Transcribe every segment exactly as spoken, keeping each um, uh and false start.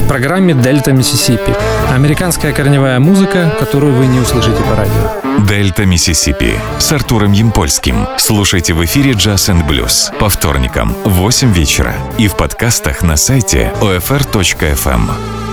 программе «Дельта Миссисипи». Американская корневая музыка, которую вы не услышите по радио. «Дельта Миссисипи» с Артуром Ямпольским. Слушайте в эфире «Джаз энд Блюз» по вторникам в восемь вечера и в подкастах на сайте о эф эр точка эф эм.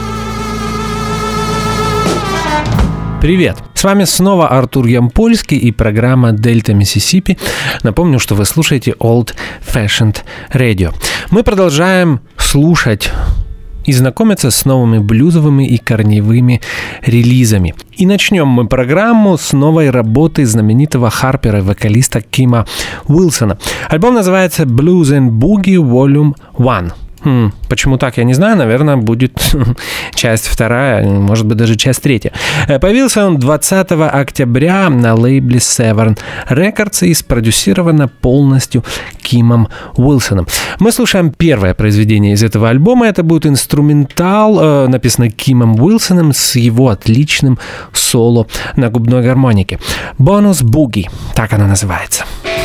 Привет! С вами снова Артур Ямпольский и программа «Дельта Миссисипи». Напомню, что вы слушаете Old Fashioned Radio. Мы продолжаем слушать и знакомиться с новыми блюзовыми и корневыми релизами. И начнем мы программу с новой работы знаменитого харпера и вокалиста Кима Уилсона. Альбом называется «Blues and Boogie Volume один». Хм, почему так, я не знаю. Наверное, будет часть вторая, может быть, даже часть третья. Появился он двадцатого октября на лейбле Severn Records и спродюсировано полностью Кимом Уилсоном. Мы слушаем первое произведение из этого альбома. Это будет инструментал, написанный Кимом Уилсоном с его отличным соло на губной гармонике. «Bonus Boogie», так оно называется.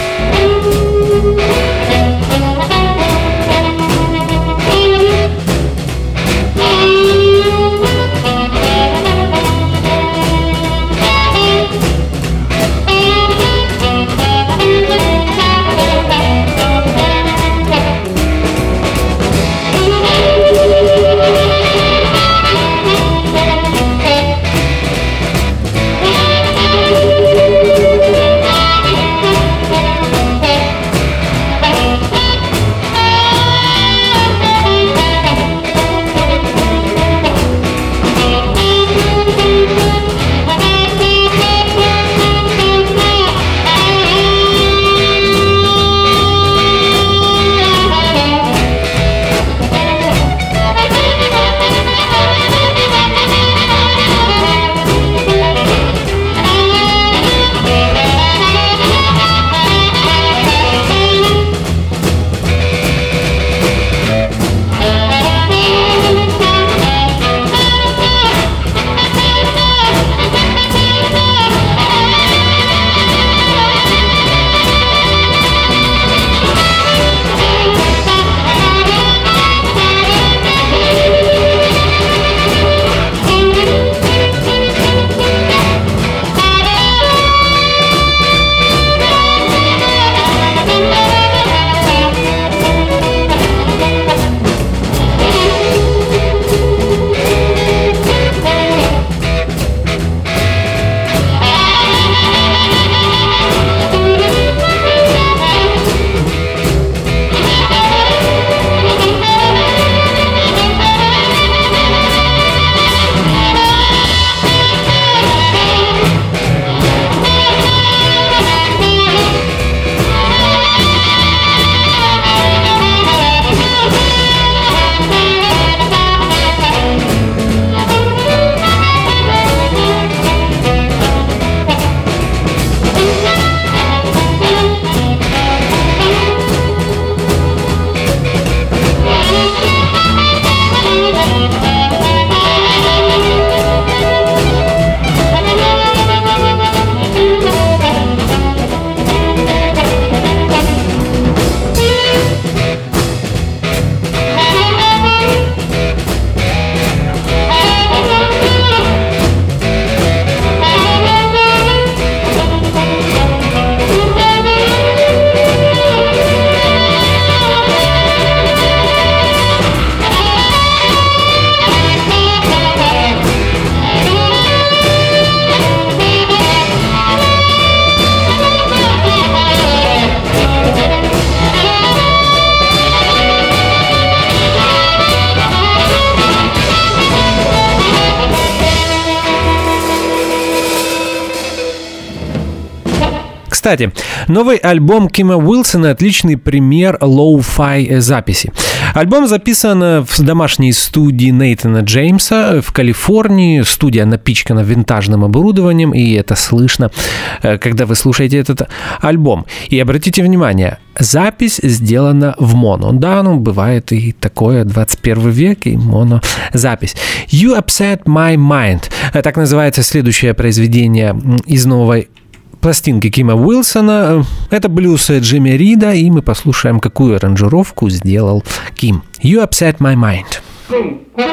Кстати, новый альбом Кима Уилсона – отличный пример лоу-фай записи. Альбом записан в домашней студии Нейтана Джеймса в Калифорнии. Студия напичкана винтажным оборудованием, и это слышно, когда вы слушаете этот альбом. И обратите внимание, запись сделана в моно. Да, ну, бывает и такое, двадцать первый век, и монозапись. «You Upset My Mind» – так называется следующее произведение из новой пластинки Кима Уилсона. Это блюз Джимми Рида, и мы послушаем, какую аранжировку сделал Ким. «You Upset My Mind».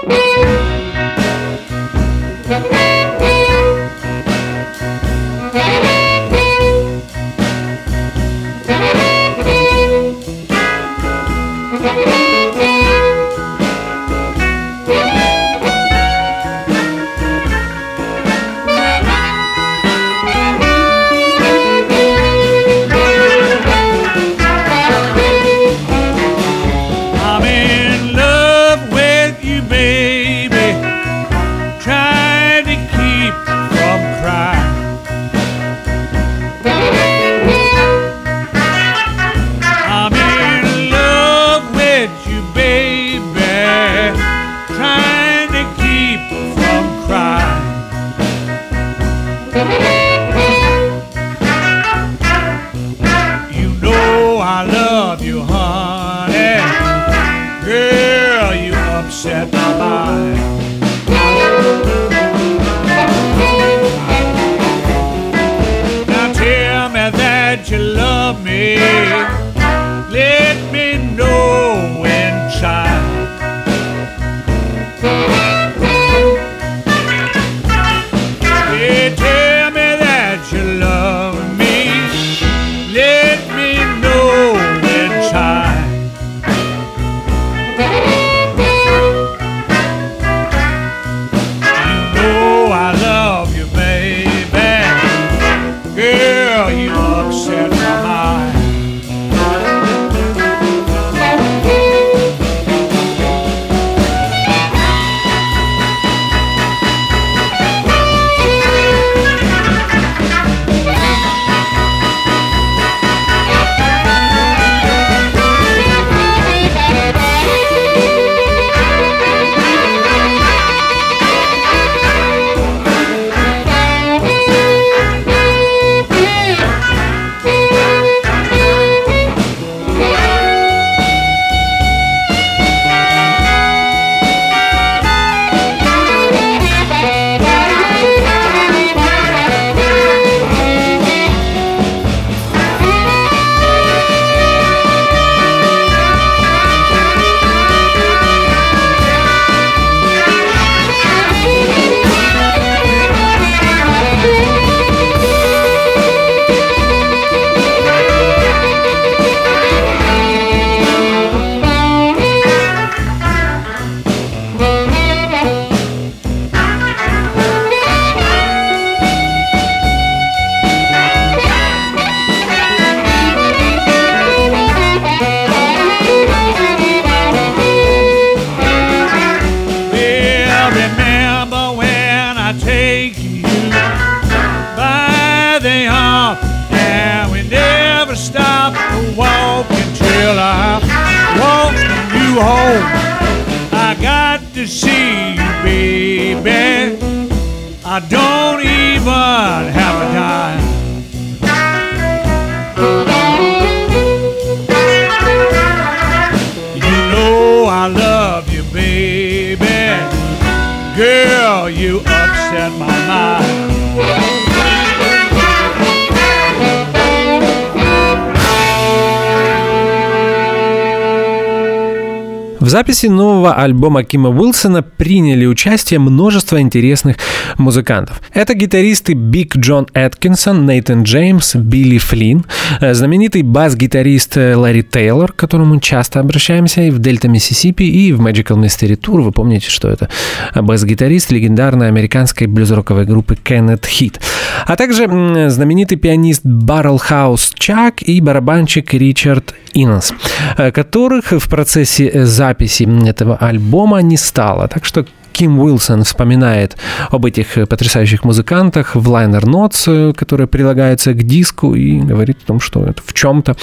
В записи нового альбома Кима Уилсона приняли участие множество интересных музыкантов. Это гитаристы Биг Джон Эткинсон, Нейтан Джеймс, Билли Флинн, знаменитый бас-гитарист Ларри Тейлор, к которому часто обращаемся и в Дельта Миссисипи, и в Magical Mystery Tour. Вы помните, что это бас-гитарист легендарной американской блюз-роковой группы Кеннет Хит. А также знаменитый пианист Баррелхаус Чак и барабанщик Ричард Иннес, которых в процессе записи этого альбома не стало. Так что Ким Уилсон вспоминает об этих потрясающих музыкантах в liner notes, которые прилагаются к диску, и говорит о том, что это в чем-то.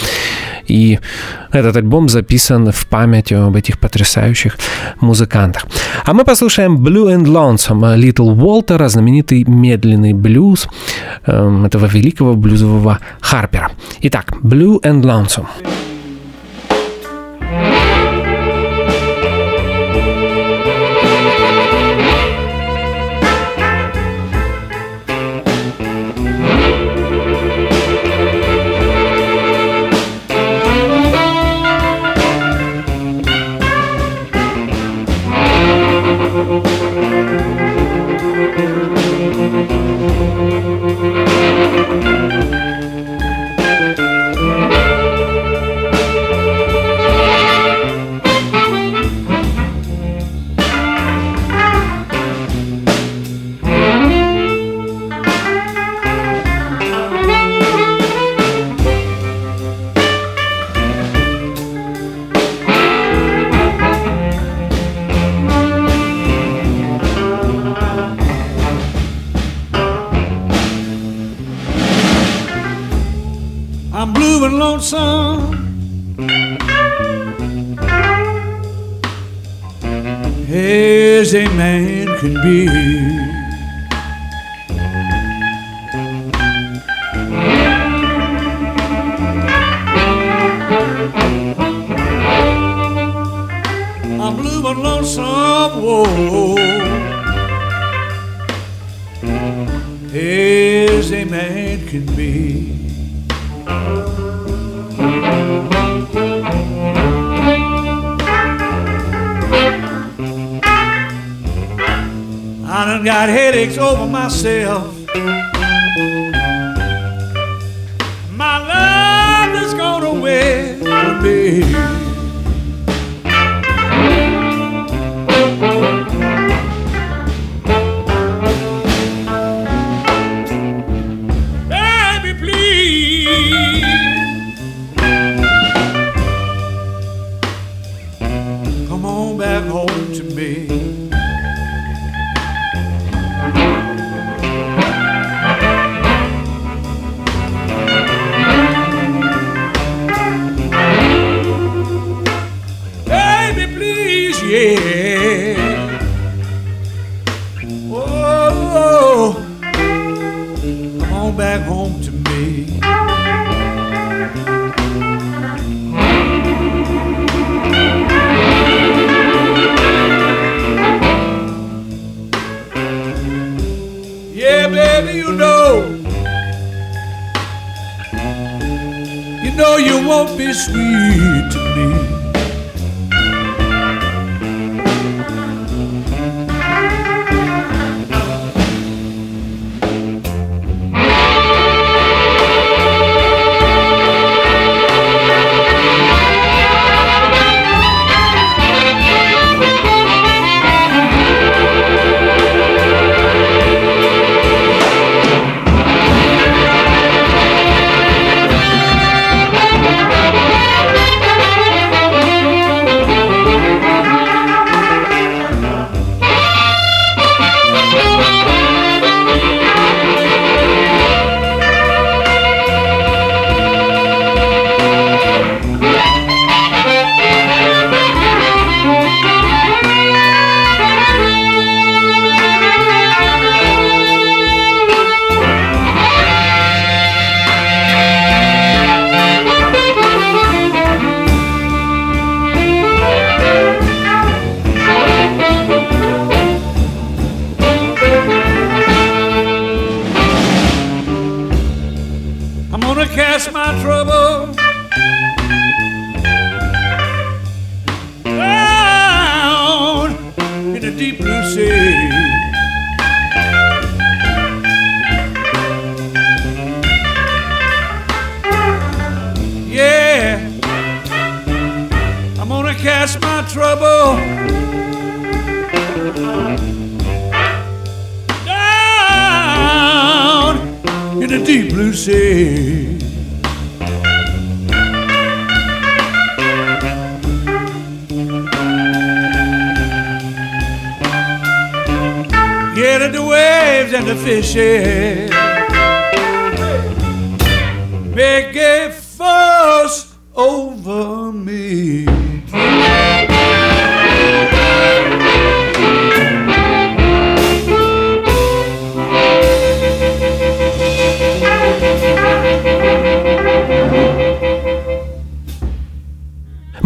И этот альбом записан в память об этих потрясающих музыкантах. А мы послушаем Blue and Lonesome Little Walter, знаменитый медленный блюз э, этого великого блюзового Харпера. Итак, Blue and Lonesome. I'm blue and lonesome, as a man can be. I'm blue and lonesome, whoa, as a man can be. I done got headaches over myself. My love has gone away from me. Baby, please come on back home to me. Yeah. Oh, come on back home to me. Yeah, baby, you know, you know you won't be sweet to me. Cast my trouble down in the deep blue sea. Yeah, I'm gonna cast my trouble down in the deep blue sea. Get at the waves and the fishes make a fuss over me.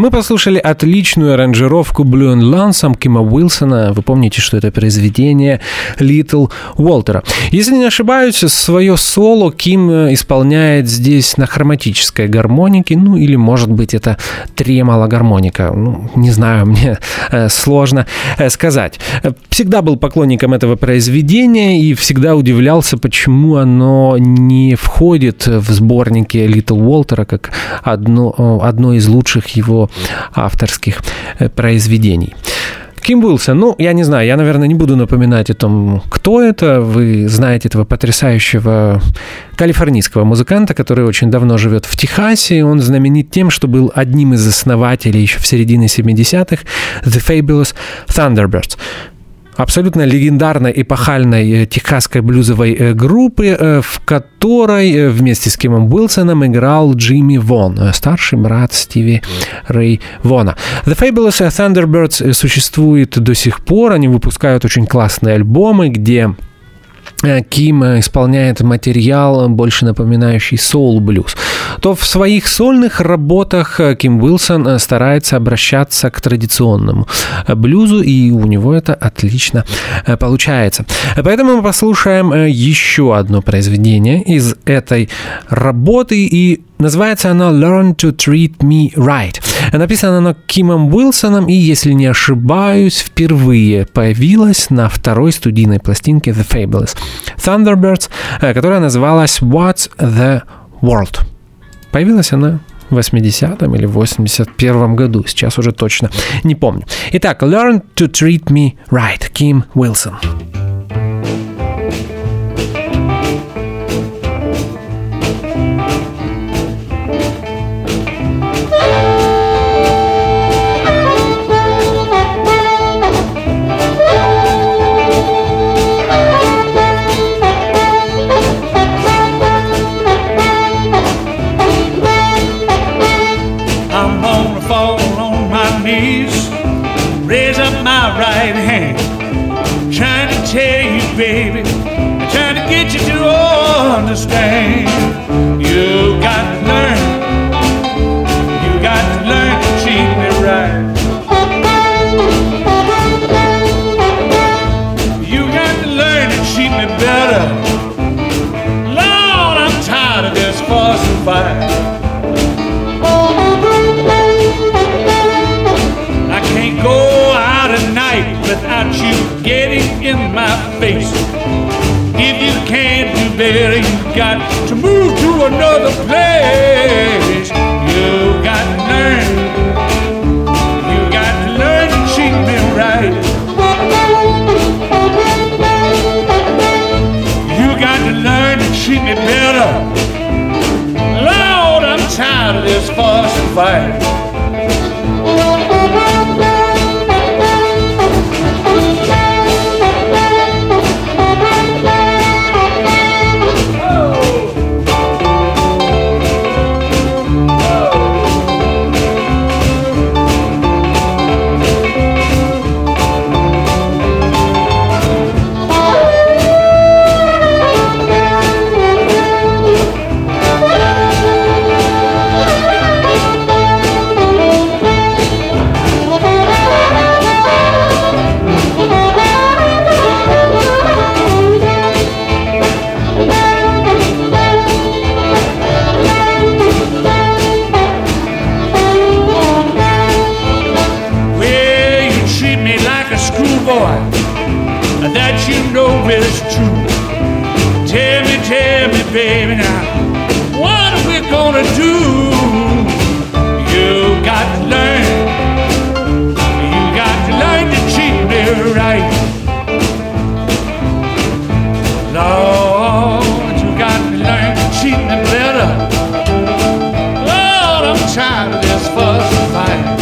Мы послушали отличную аранжировку Blue and Lonesome Кима Уилсона. Вы помните, что это произведение Little Walter. Если не ошибаюсь, свое соло Ким исполняет здесь на хроматической гармонике, ну или, может быть, это тремоло-гармоника. Ну, не знаю, мне э, сложно э, сказать. Всегда был поклонником этого произведения и всегда удивлялся, почему оно не входит в сборники Little Walter как одно, одно из лучших его авторских произведений. Ким Уилсон, ну, я не знаю, я, наверное, не буду напоминать о том, кто это. Вы знаете этого потрясающего калифорнийского музыканта, который очень давно живет в Техасе. Он знаменит тем, что был одним из основателей еще в середине семидесятых The Fabulous Thunderbirds. Абсолютно легендарной, эпохальной техасской блюзовой группы, в которой вместе с Кимом Уилсоном играл Джимми Вон, старший брат Стиви Рэй Вона. The Fabulous Thunderbirds существует до сих пор, они выпускают очень классные альбомы, где Ким исполняет материал, больше напоминающий соул-блюз, то в своих сольных работах Ким Уилсон старается обращаться к традиционному блюзу, и у него это отлично получается. Поэтому мы послушаем еще одно произведение из этой работы, и называется оно «Learn to Treat Me Right». Написано оно Кимом Уилсоном, и, если не ошибаюсь, впервые появилась на второй студийной пластинке The Fabulous Thunderbirds, которая называлась «What's the World?». Появилась она в восьмидесятом или восемьдесят первом году, сейчас уже точно не помню. Итак, «Learn to Treat Me Right», Ким Уилсон. Raise up my right hand, trying to tell you, baby, trying to get you to understand. You got to learn, you got to learn to treat me right. You got to learn to treat me better. Lord, I'm tired of this fuss and fight. Go out at night without you getting in my face. If you can't do better, you got to move to another place. You got to learn, you got to learn to treat me right. You got to learn to treat me better. Lord, I'm tired of this fuss and fight. Baby, now what are we gonna do? You got to learn, you got to learn to treat me right. Lord, you got to learn to treat me better. Lord, I'm tired of this fuss and fight.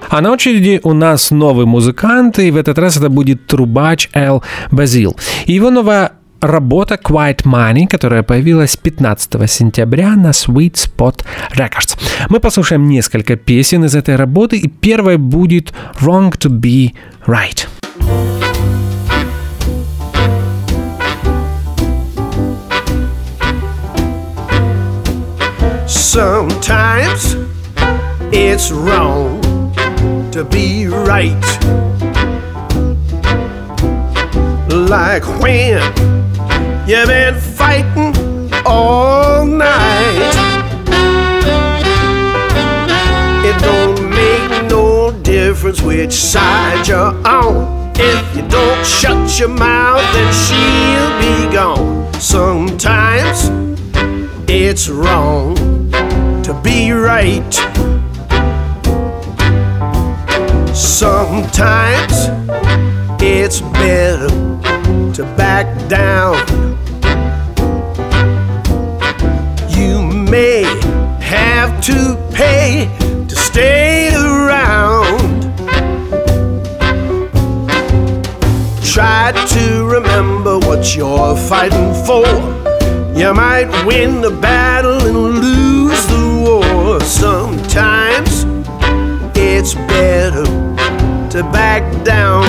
А на очереди у нас новый музыкант, и в этот раз это будет трубач Эл Базил. И его новая работа Quiet Money, которая появилась пятнадцатого сентября на Sweet Spot Records. Мы послушаем несколько песен из этой работы, и первой будет Wrong to be Right. Sometimes it's wrong to be right. Like when you've been fighting all night. It don't make no difference which side you're on. If you don't shut your mouth, then she'll be gone. Sometimes it's wrong to be right. Sometimes it's better to back down. You may have to pay to stay around. Try to remember what you're fighting for. You might win the battle and lose the war. Sometimes it's better to back down.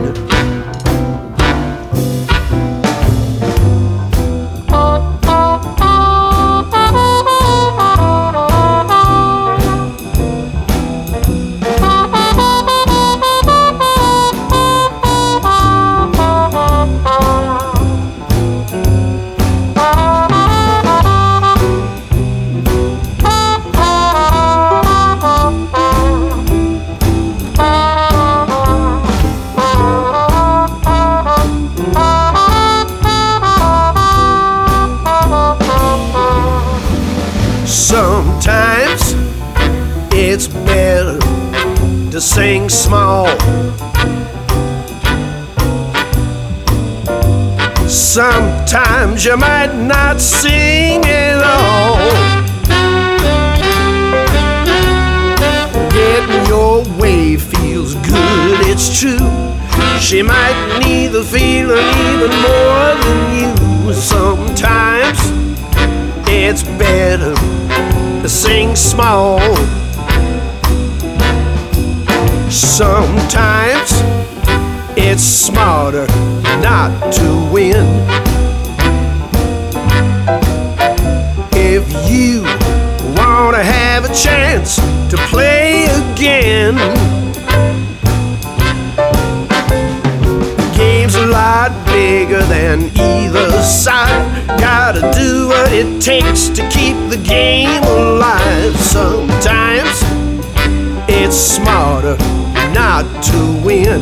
Sometimes it's better to sing small. Sometimes you might not sing at all. Getting your way feels good, it's true. She might need the feeling even more than you. Sometimes it's better to sing small. Sometimes it's smarter not to win. If you want to have a chance to play again, the game's a lot bigger than either side. Gotta do what it takes to keep the game alive. Sometimes it's smarter not to win.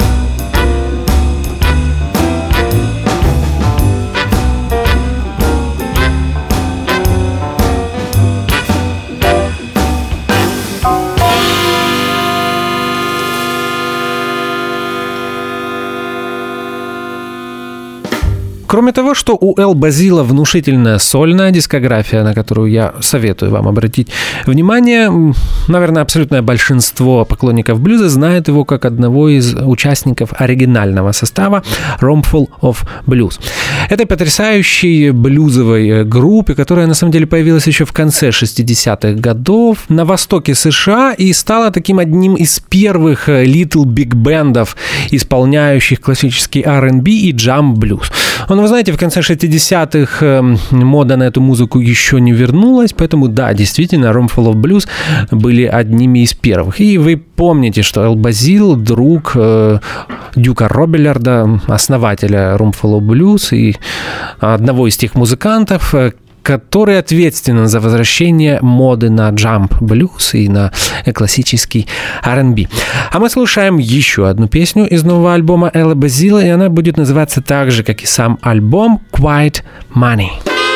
Кроме того, что у Эл Базила внушительная сольная дискография, на которую я советую вам обратить внимание, наверное, абсолютное большинство поклонников блюза знает его как одного из участников оригинального состава Roomful of Blues. Этой потрясающей блюзовой группе, которая на самом деле появилась еще в конце шестидесятых годов на востоке США и стала таким одним из первых little big бендов, исполняющих классический ар энд би и джам-блюз. Но вы знаете, в конце шестидесятых мода на эту музыку еще не вернулась, поэтому да, действительно, Roomful of Blues были одними из первых. И вы помните, что Эл Базил, друг э, Дюка Робилларда, основателя Roomful of Blues и одного из тех музыкантов, который ответственен за возвращение моды на джамп-блюз и на классический ар энд би. А мы слушаем еще одну песню из нового альбома Элла Базила, и она будет называться так же, как и сам альбом, Quiet Money.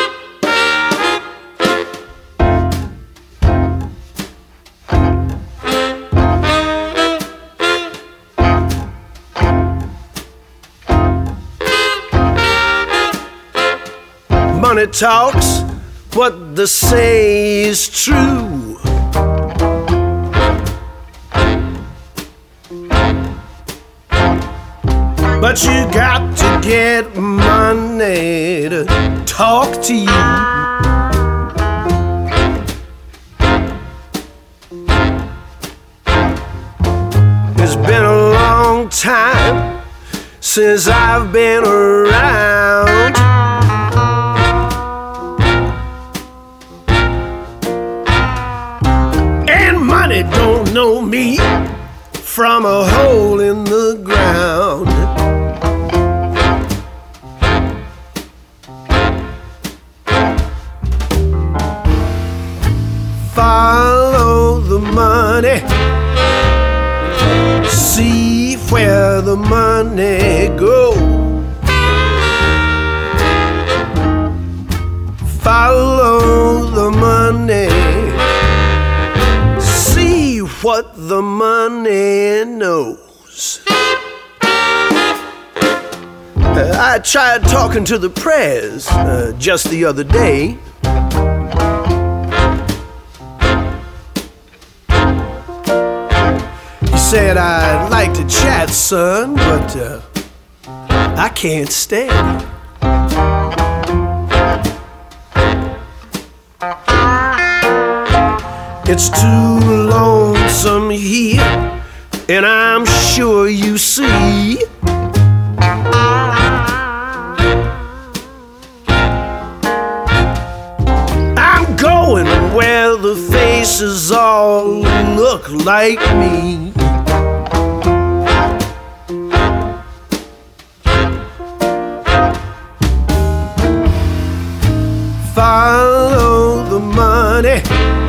Money talks, what they say is true. But you got to get money to talk to you. It's been a long time since I've been around. And money don't know me from a hole in the ground. Follow the money, see where the money goes. Follow the money, see what the money knows. Uh, I tried talking to the press uh, just the other day. Said I'd like to chat, son, but uh, I can't stand it. It's too lonesome here, and I'm sure you see. I'm going where the faces all look like me. Follow the money,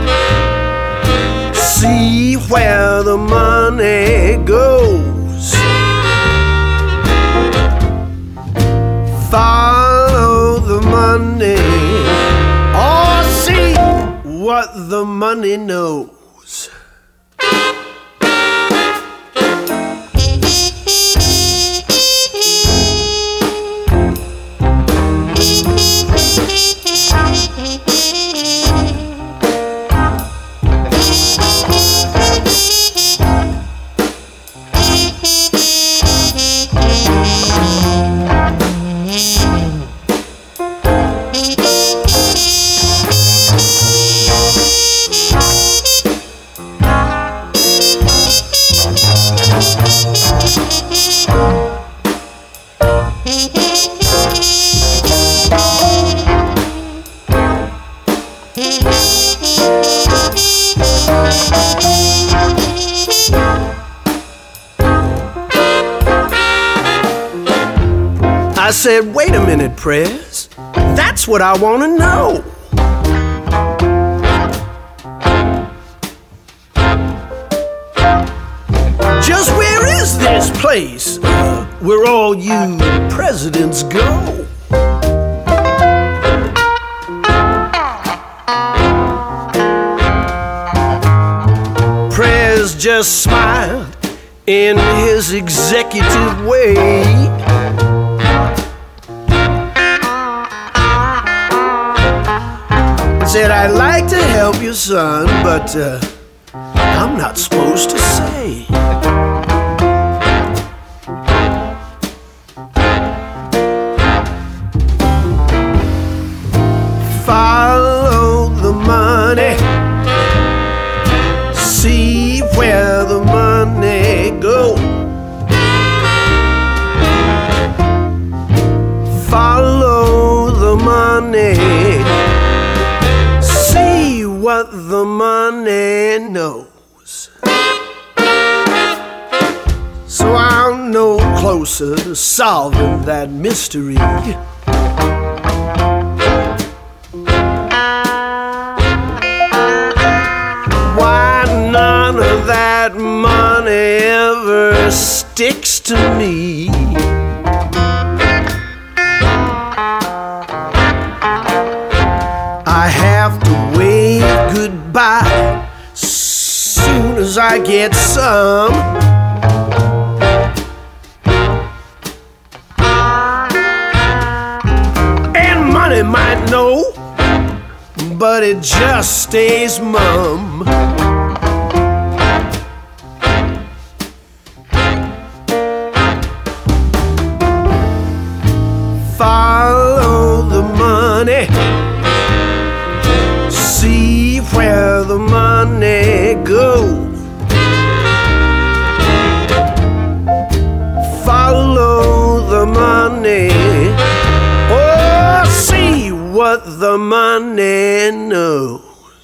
see where the money goes. Follow the money, or see what the money knows. I said, wait a minute, Prez. That's what I want to know. Just where is this place uh, where all you presidents go? Prez just smiled in his executive way. Said, I'd like to help you, son, but uh, I'm not supposed to say. Follow the money, see where the money goes. Follow the money, what the money knows. So I'm no closer to solving that mystery. Why none of that money ever sticks to me? I have to wave goodbye soon as I get some. And money might know, but it just stays mum. money. See where the money goes. Follow the money. Oh, see what the money knows.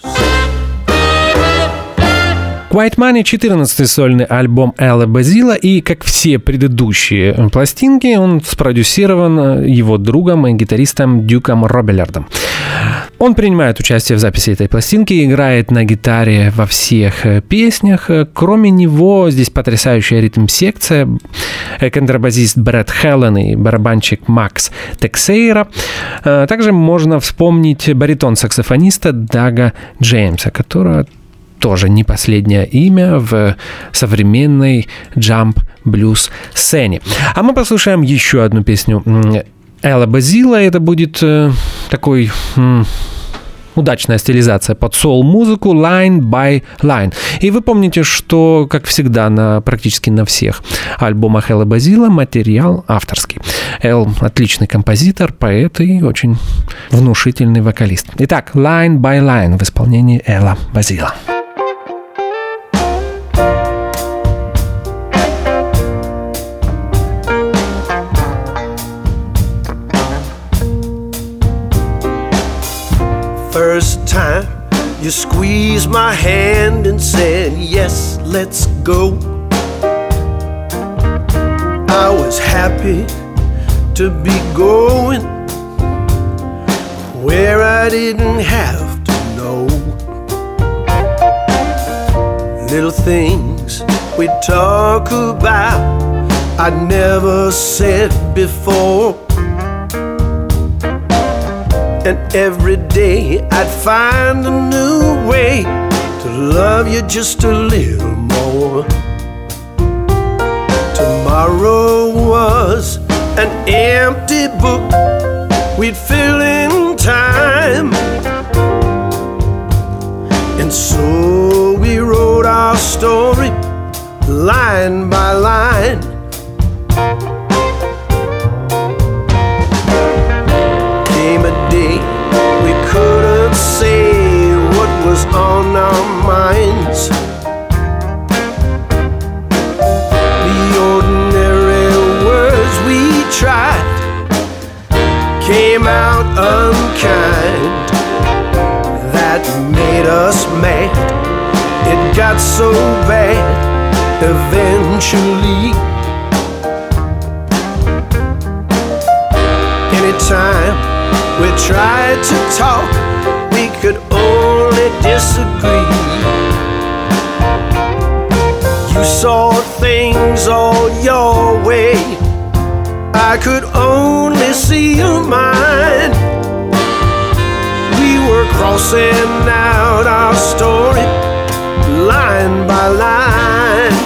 Quiet Money — четырнадцатый сольный альбом Элла Базила, и, как все предыдущие пластинки, он спродюсирован его другом и гитаристом Дюком Робиллардом. Он принимает участие в записи этой пластинки, играет на гитаре во всех песнях. Кроме него здесь потрясающая ритм-секция, контрабасист Брэд Хеллен и барабанщик Макс Тексейра. Также можно вспомнить баритон-саксофониста Дага Джеймса, которого тоже не последнее имя в современной джамп-блюз-сцене. А мы послушаем еще одну песню Элла Базила. Это будет э, такой м, удачная стилизация под соул-музыку Line by Line. И вы помните, что, как всегда, на, практически на всех альбомах Элла Базила материал авторский. Эл — отличный композитор, поэт и очень внушительный вокалист. Итак, Line by Line в исполнении Элла Базила. First time you squeezed my hand and said, yes, let's go. I was happy to be going where I didn't have to know. Little things we talk about I never said before. And every day I'd find a new way to love you just a little more. Tomorrow was an empty book we'd fill in time. And so we wrote our story line by line. Came a day we couldn't say what was on our minds. The ordinary words we tried came out unkind. That made us mad. It got so bad eventually. Anytime we tried to talk, we could only disagree. You saw things all your way, I could only see mine. We were crossing out our story line by line.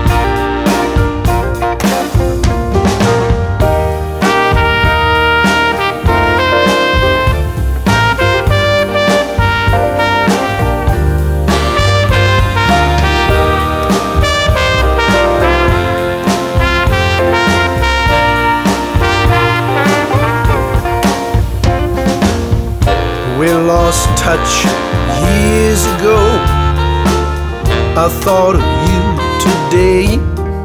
We lost touch years ago. I thought of you today.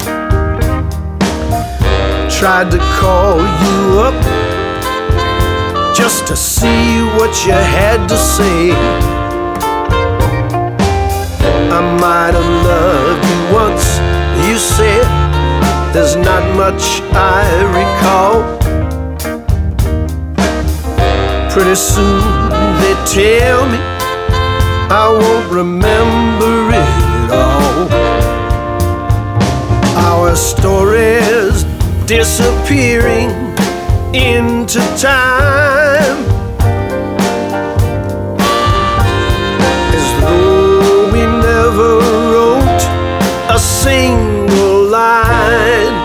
Tried to call you up just to see what you had to say. I might have loved you once, you said. There's not much I recall. Pretty soon they tell me I won't remember it all. Our stories disappearing into time, as though we never wrote a single line.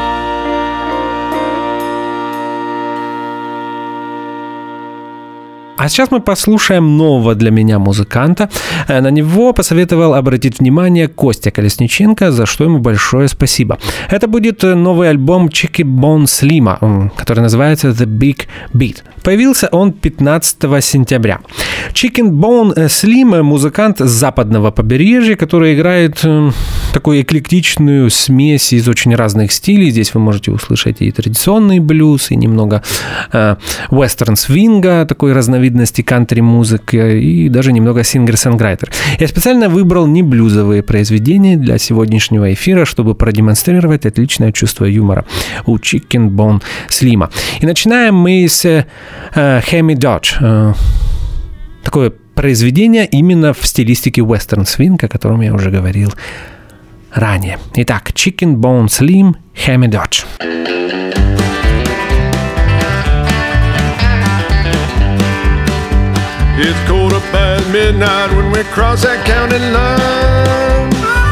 А сейчас мы послушаем нового для меня музыканта. На него посоветовал обратить внимание Костя Колесниченко, за что ему большое спасибо. Это будет новый альбом Chicken Bone Slim, который называется The Big Beat. Появился он пятнадцатого сентября. Chicken Bone Slim — музыкант с западного побережья, который играет такую эклектичную смесь из очень разных стилей. Здесь вы можете услышать и традиционный блюз, и немного э, вестерн-свинга, такой разновидности кантри-музыки, и даже немного сингер-сонграйтер. Я специально выбрал не блюзовые произведения для сегодняшнего эфира, чтобы продемонстрировать отличное чувство юмора у Chicken Bone Slim. И начинаем мы с э, Hemi Dodge. Э, такое произведение именно в стилистике вестерн-свинг, о котором я уже говорил ранее. Итак, Chicken Bone Slim, Hemi Dodge. It's quarter past midnight when we cross that county line,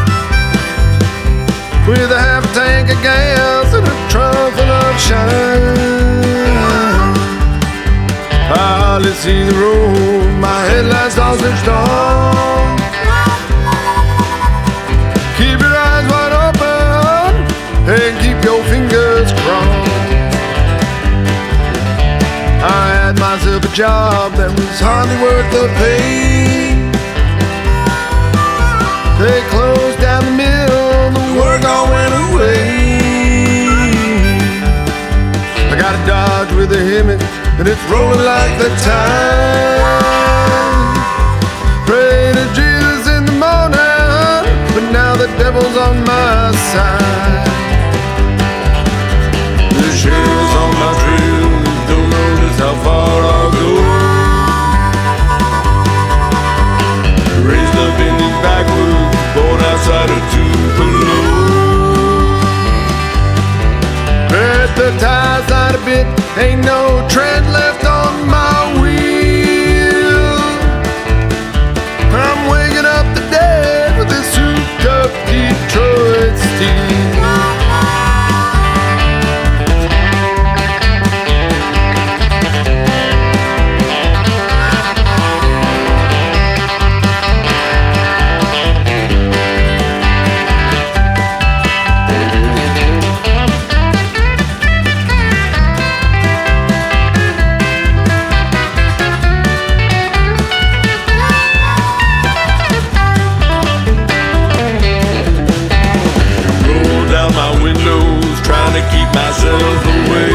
with a half a tank of gas and a trunk full of shine. I hardly see the road, my headlights all switched on. Keep your eyes wide open and keep your fingers crossed. I had myself a job that was hardly worth the pay. They closed down the mill, the work all went away. I got a Dodge with a Hemi, and it's rolling like the tide. Pray to Jesus in the morning, but now the devil's on my side. The sheriff's on my trail, don't know just how far I'll go. Raised up in these backwoods, born outside of Tupelo. At the tire side a bit, ain't no tread left on my wheel. I'm waking up the dead with this souped up Detroit steel. Myself away.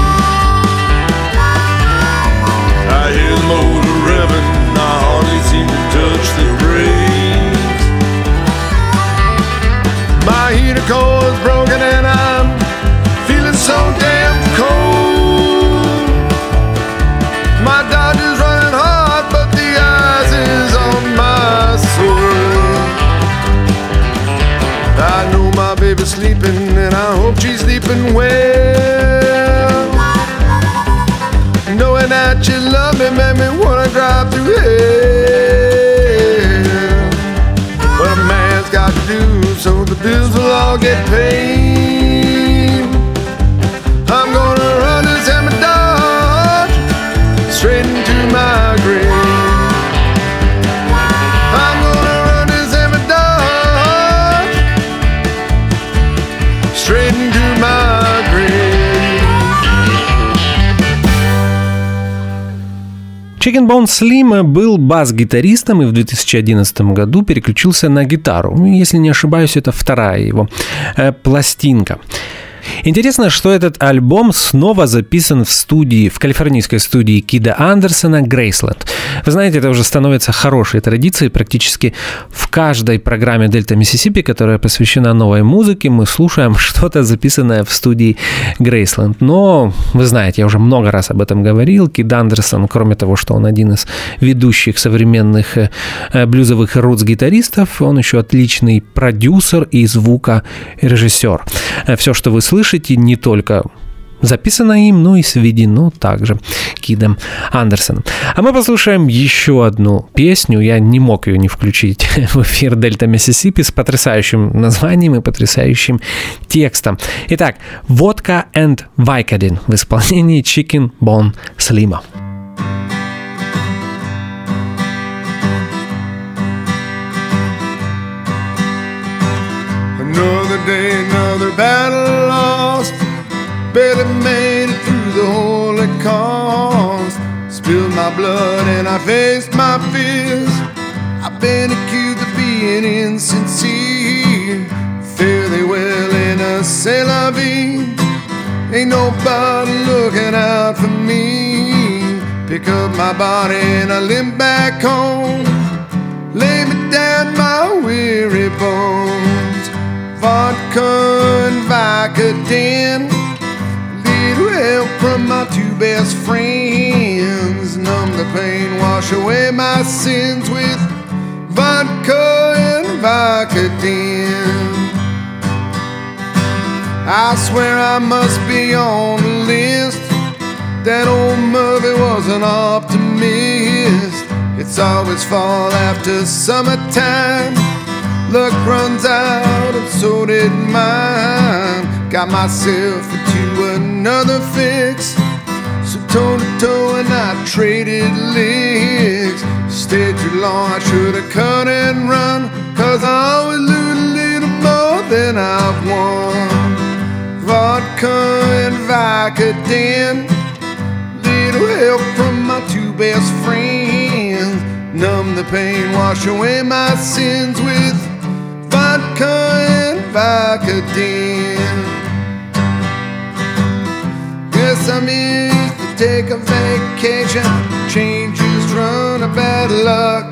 I hear the motor revving, I hardly seem to touch the brakes. My heater coil's broken and I'm feeling so damn cold. My Dodge is running hard, but the ice is on my soul. I know my baby's sleeping and I hope she's sleeping well. Knowing that you love me made me wanna drive through hell. But a man's got to do so the bills will all get paid. I'm gonna run this Hemi Dodge straight into my grave. I'm gonna run this Hemi Dodge straight into my grave. Chicken Bone Slim был бас-гитаристом и в две тысячи одиннадцатом году переключился на гитару. Если не ошибаюсь, это вторая его э, пластинка. Интересно, что этот альбом снова записан в студии, в калифорнийской студии Кида Андерсона Graceland. Вы знаете, это уже становится хорошей традицией. Практически в каждой программе Delta Mississippi, которая посвящена новой музыке, мы слушаем что-то записанное в студии Graceland. Но, вы знаете, я уже много раз об этом говорил. Кид Андерсон, кроме того, что он один из ведущих современных блюзовых рутс-гитаристов, он еще отличный продюсер и звукорежиссер. Все, что вы слышите, не только записано им, но и сведено также Кидом Андерсоном. А мы послушаем еще одну песню. Я не мог ее не включить в эфир Delta Mississippi с потрясающим названием и потрясающим текстом. Итак, «Vodka and Vicodin» в исполнении Chicken Bone Slim. day, another battle lost. Barely made it through the holy cause. Spilled my blood and I faced my fears. I've been accused of being insincere. Fare thee well in a c'est la vie. Ain't nobody looking out for me. Pick up my body and I limp back home. Lay me down my weary bones. Vodka and Vicodin. Little help from my two best friends. Numb the pain, wash away my sins with vodka and Vicodin. I swear I must be on the list. That old Murphy was an optimist. It's always fall after summertime. Luck runs out and so did mine. Got myself into another fix. So toe to toe and I traded licks. Stayed too long, I should've cut and run. Cause I always lose a little more than I've won. Vodka and Vicodin. Little help from my two best friends. Numb the pain, wash away my sins with vodka and Vicodin. Guess I missed to take a vacation. Changes run a bad luck.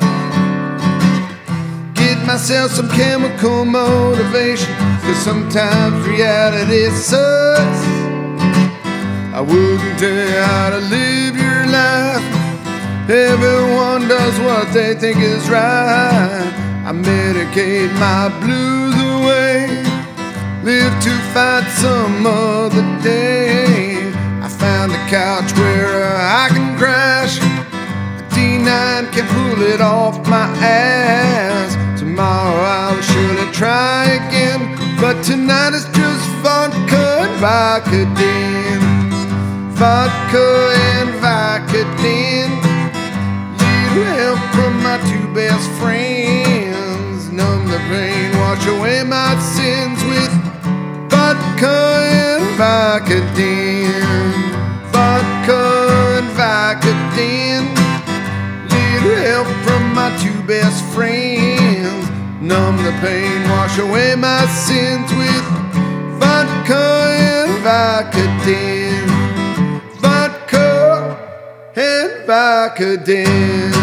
Get myself some chemical motivation. Cause sometimes reality sucks. I wouldn't tell you how to live your life. Everyone does what they think is right. I medicate my blues away. Live to fight some other day. I found a couch where I can crash. A D nine can pull it off my ass. Tomorrow I'll surely try again. But tonight it's just vodka and Vicodin. Vodka and Vicodin. Little help from my two best friends. Numb the pain, wash away my sins with vodka and Vicodin. Vodka and Vicodin. Little help from my two best friends. Numb the pain, wash away my sins with vodka and Vicodin. Vodka and Vicodin.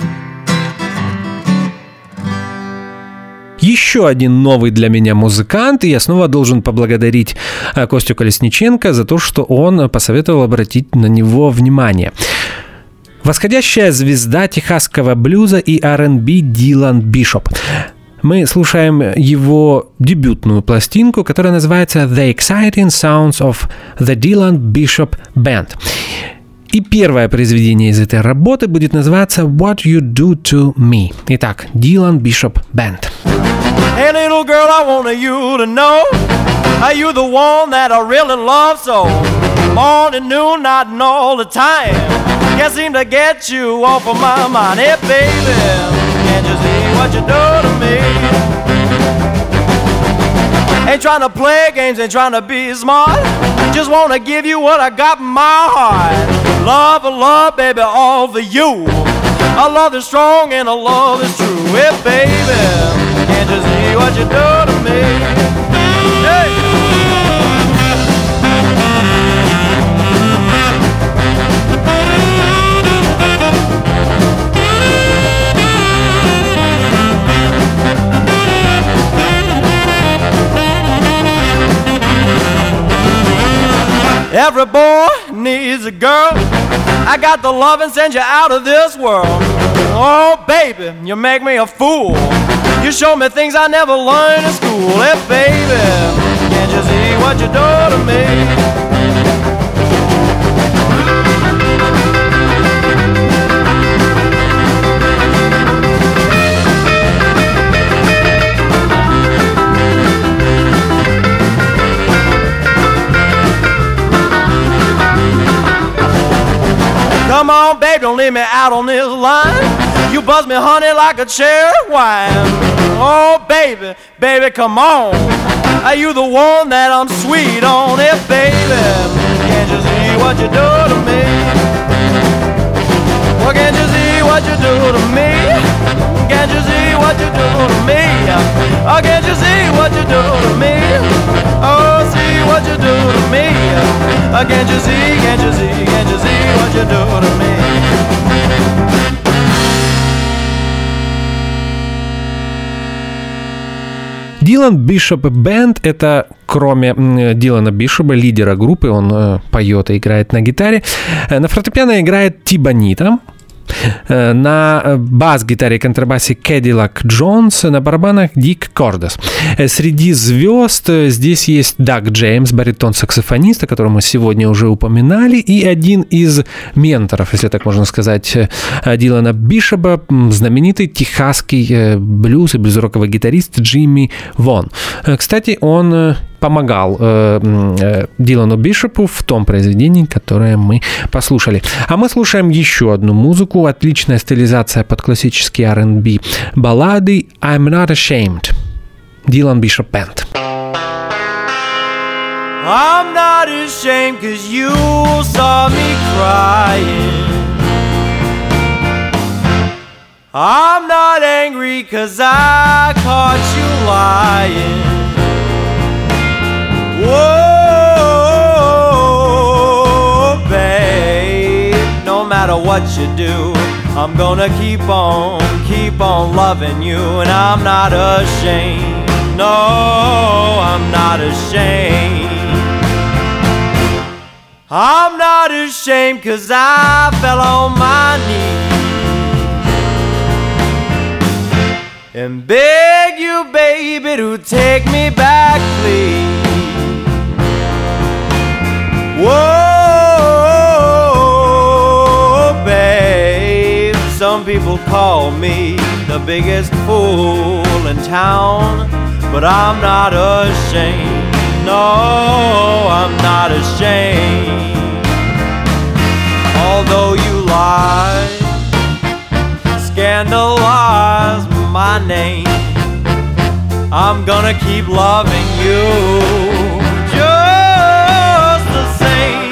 Еще один новый для меня музыкант, и я снова должен поблагодарить Костю Колесниченко за то, что он посоветовал обратить на него внимание. Восходящая звезда техасского блюза и ар энд би Дилан Бишоп. Мы слушаем его дебютную пластинку, которая называется The Exciting Sounds of the Dylan Bishop Band. И первое произведение из этой работы будет называться What You Do To Me. Итак, Dylan Bishop Band. Hey little girl, I want you to know, are you the one that I really love so? Morning, noon, night and all the time, can't seem to get you off of my mind. Hey baby, can't you see what you do to me? Ain't trying to play games, ain't trying to be smart, just wanna give you what I got in my heart. Love, love, baby, all for you. A love that's strong and a love that's true. Hey baby, can't you see what you do to me? Hey. Every boy needs a girl. I got the love and send you out of this world. Oh baby, you make me a fool. You show me things I never learned in school. Hey baby, can't you see what you do to me? Come on, babe, don't leave me out on this line. You buzz me, honey, like a cherry wine. Oh, baby, baby, come on. Are you the one that I'm sweet on? It, baby, can't you see what you do to me? Well, can't you see what you do to me? Can't you see what you do to me? Oh, can't you see what you do to me? Oh, see what you do to me? Oh, can't you see, can't you see, can't you see what you do to me? Дилан Бишоп Бэнд — это, кроме Дилана Бишопа, лидера группы, он э, поет и играет на гитаре. На фортепиано играет Ти Бонита, на бас-гитаре и контрабасе Кэдиллак Джонс, на барабанах Дик Кордес. Среди звезд здесь есть Даг Джеймс, баритон-саксофонист, о котором мы сегодня уже упоминали, и один из менторов, если так можно сказать, Дилана Бишопа, знаменитый техасский блюз и блюз-роковый гитарист Джимми Вон. Кстати, он помогал э, э, Дилану Бишопу в том произведении, которое мы послушали. А мы слушаем еще одну музыку, отличная стилизация под классические ар энд би баллады I'm Not Ashamed. Дилан Бишоп Бэнд. I'm not ashamed 'cause you saw me crying. I'm not angry 'cause I caught you lying. Whoa, babe, no matter what you do, I'm gonna keep on, keep on loving you. And I'm not ashamed, no, I'm not ashamed. I'm not ashamed 'cause I fell on my knees and beg you, baby, to take me back, please. Whoa, babe, some people call me the biggest fool in town, but I'm not ashamed, no, I'm not ashamed. Although you lie, scandalize my name, I'm gonna keep loving you just the same.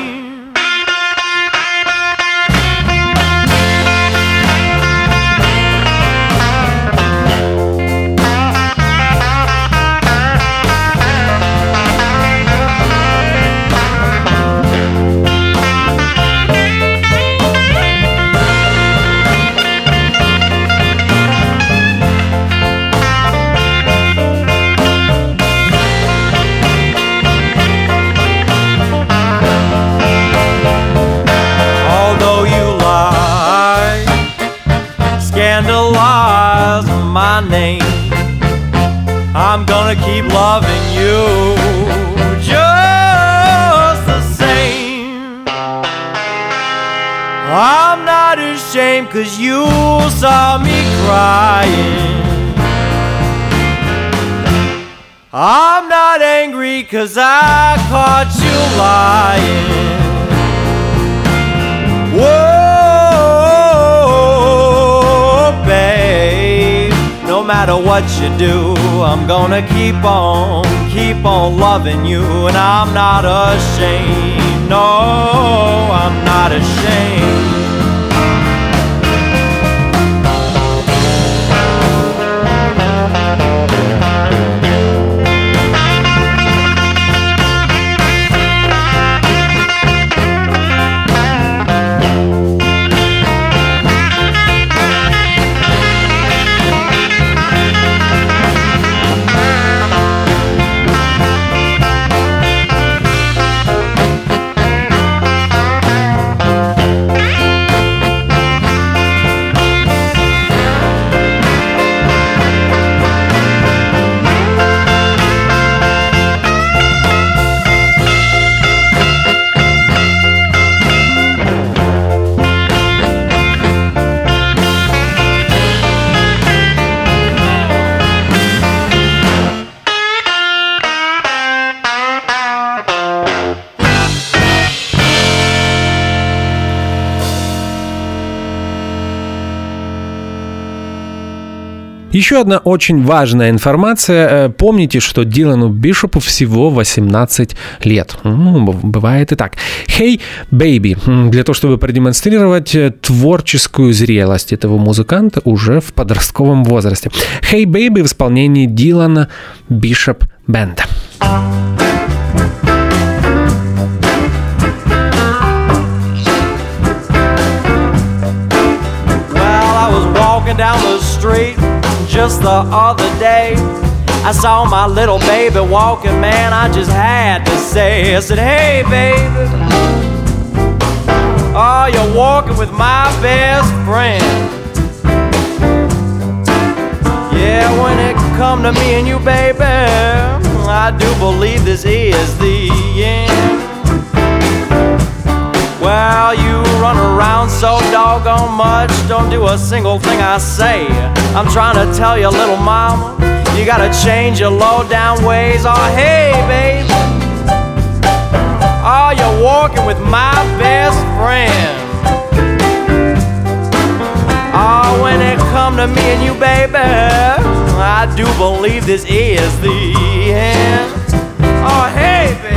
Scandalize my name, I'm gonna keep loving you just the same. I'm not ashamed 'cause you saw me crying. I'm not angry 'cause I caught you lying. Whoa, babe, no matter what you do, I'm gonna keep on, keep on loving you. And I'm not ashamed, no, I'm not ashamed. Еще одна очень важная информация. Помните, что Дилану Бишопу всего восемнадцать лет. Ну, бывает и так. «Hey Baby» для того, чтобы продемонстрировать творческую зрелость этого музыканта уже в подростковом возрасте. «Hey Baby» в исполнении Дилана Бишоп Бенда. Down the street just the other day, I saw my little baby walking, man, I just had to say, I said, hey baby, oh, you're walking with my best friend. Yeah, when it come to me and you, baby, I do believe this is the end. Well, you run around so doggone much, don't do a single thing I say. I'm trying to tell you, little mama, you gotta change your low-down ways. Oh, hey, baby, oh, you're walking with my best friend. Oh, when it come to me and you, baby, I do believe this is the end. Oh, hey, baby.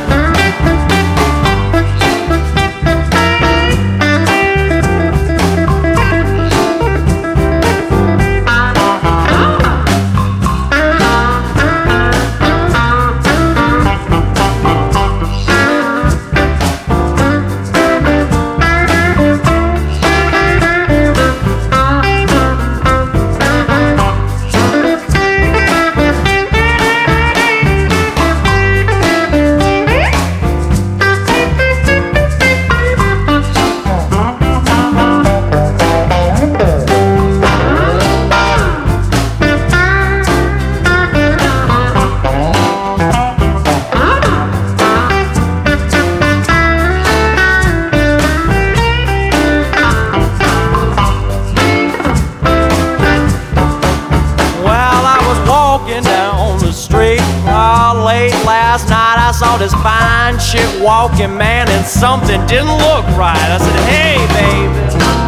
This fine chick walking, man, and something didn't look right. I said, hey, baby,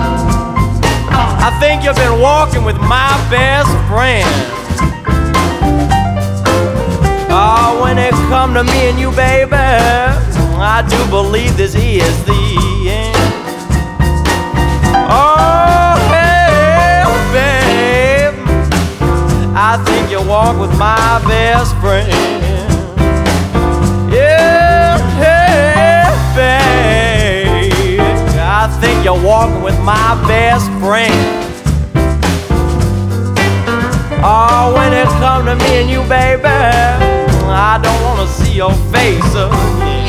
I think you've been walking with my best friend. Oh, when it come to me and you, baby, I do believe this is the end. Oh, hey, babe, I think you walk with my best friend. I think you're walking with my best friend. Oh, when it come to me and you, baby, I don't wanna see your face again.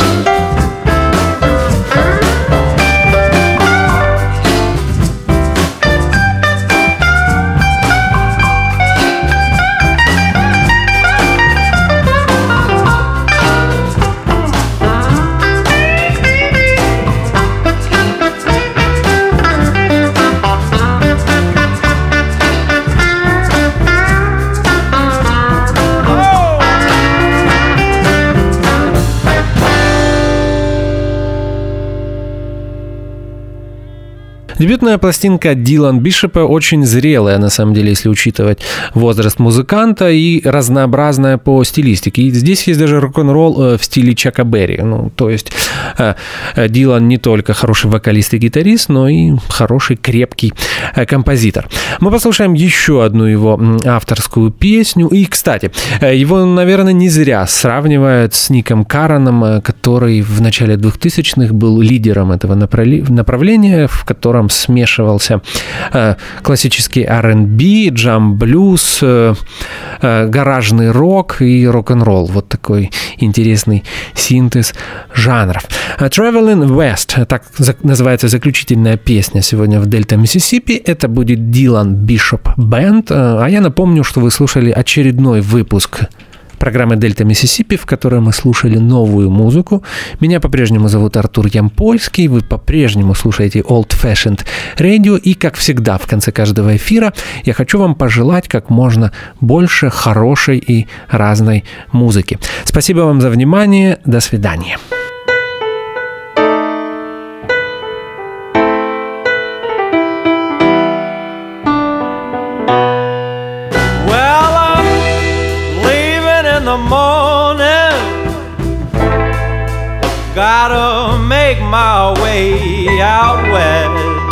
Дебютная пластинка Дилан Бишопа очень зрелая, на самом деле, если учитывать возраст музыканта, и разнообразная по стилистике. И здесь есть даже рок-н-ролл в стиле Чака Берри. Ну, то есть Дилан не только хороший вокалист и гитарист, но и хороший крепкий композитор. Мы послушаем еще одну его авторскую песню. И, кстати, его, наверное, не зря сравнивают с Ником Караном, который в начале двухтысячных был лидером этого направления, в котором смешивался э, классический ар энд би, джам-блюз, э, э, гаражный рок и рок-н-ролл. Вот такой интересный синтез жанров. Traveling West, так называется заключительная песня сегодня в Дельта Миссисипи. Это будет Дилан Бишоп Бенд. А я напомню, что вы слушали очередной выпуск программы «Дельта Миссисипи», в которой мы слушали новую музыку. Меня по-прежнему зовут Артур Ямпольский, вы по-прежнему слушаете Old Fashioned Radio, и, как всегда, в конце каждого эфира я хочу вам пожелать как можно больше хорошей и разной музыки. Спасибо вам за внимание, до свидания. Gotta make my way out west.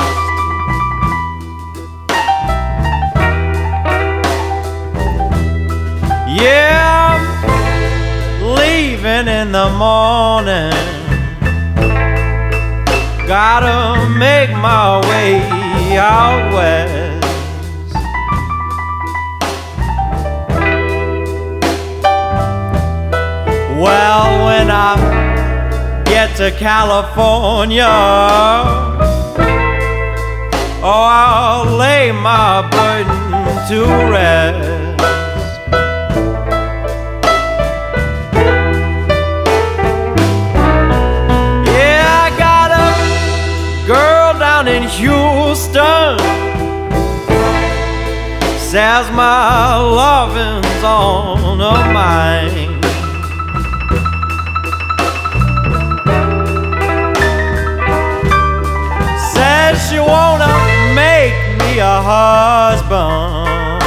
Yeah, I'm leaving in the morning. Gotta make my way out west. Well, when I get to California, oh, I'll lay my burden to rest. In Houston, says my loving's on her mind. Says she wanna make me a husband,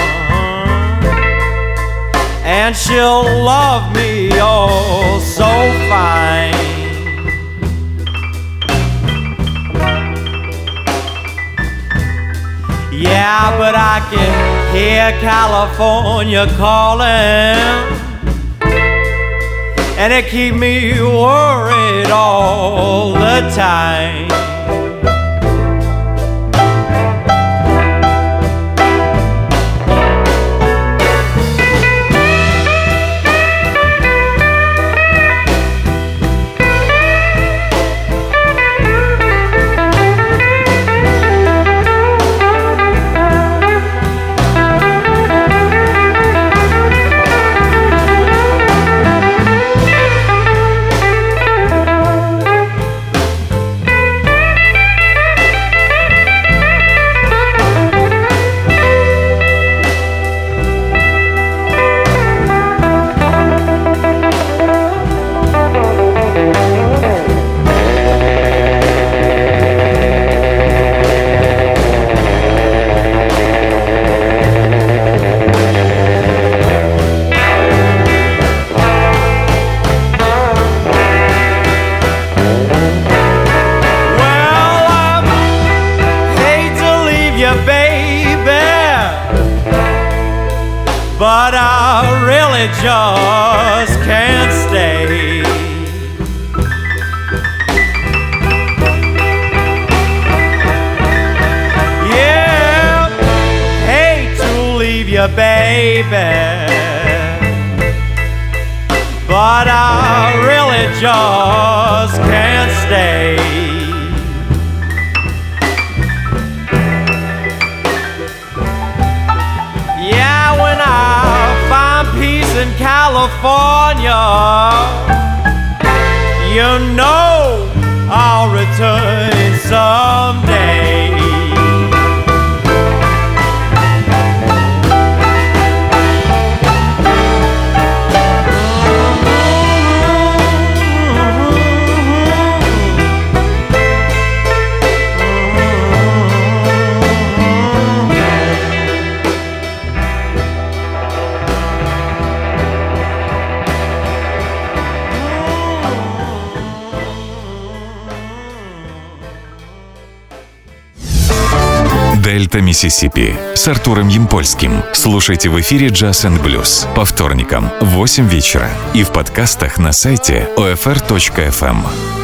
and she'll love me oh so fine. Yeah, but I can hear California calling, and it keep me worried all the time. But I really just can't stay. Yeah, hate to leave you, baby, but I really just can't stay. In California, you know I'll return someday. Дельта Миссисипи с Артуром Ямпольским. Слушайте в эфире Jazz энд Blues по вторникам в восемь вечера и в подкастах на сайте о эф эр точка эф эм.